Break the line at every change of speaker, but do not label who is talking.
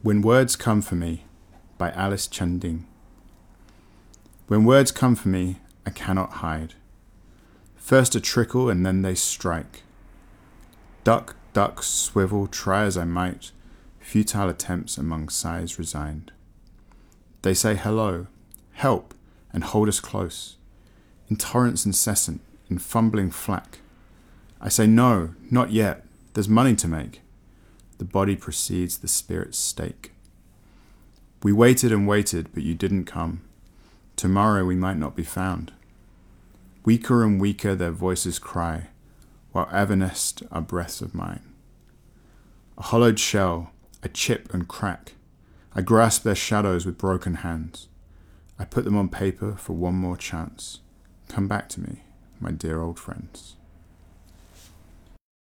When Words Come For Me by Alice Chanding. When words come for me, I cannot hide. First a trickle and then they strike. Duck, duck, swivel, try as I might, futile attempts among sighs resigned. They say hello, help, and hold us close, in torrents incessant, in fumbling flack. I say no, not yet, there's money to make. The body precedes the spirit's stake. We waited and waited, but you didn't come. Tomorrow we might not be found. Weaker and weaker their voices cry, while evanesced are breaths of mine. A hollowed shell, I chip and crack. I grasp their shadows with broken hands. I put them on paper for one more chance. Come back to me, my dear old friends.